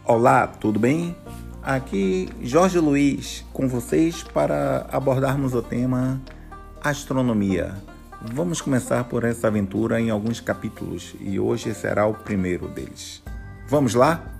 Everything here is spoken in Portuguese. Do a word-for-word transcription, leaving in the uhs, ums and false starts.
Olá, tudo bem? Aqui Jorge Luiz com vocês para abordarmos o tema astronomia. Vamos começar por essa aventura em alguns capítulos e hoje será o primeiro deles. Vamos lá?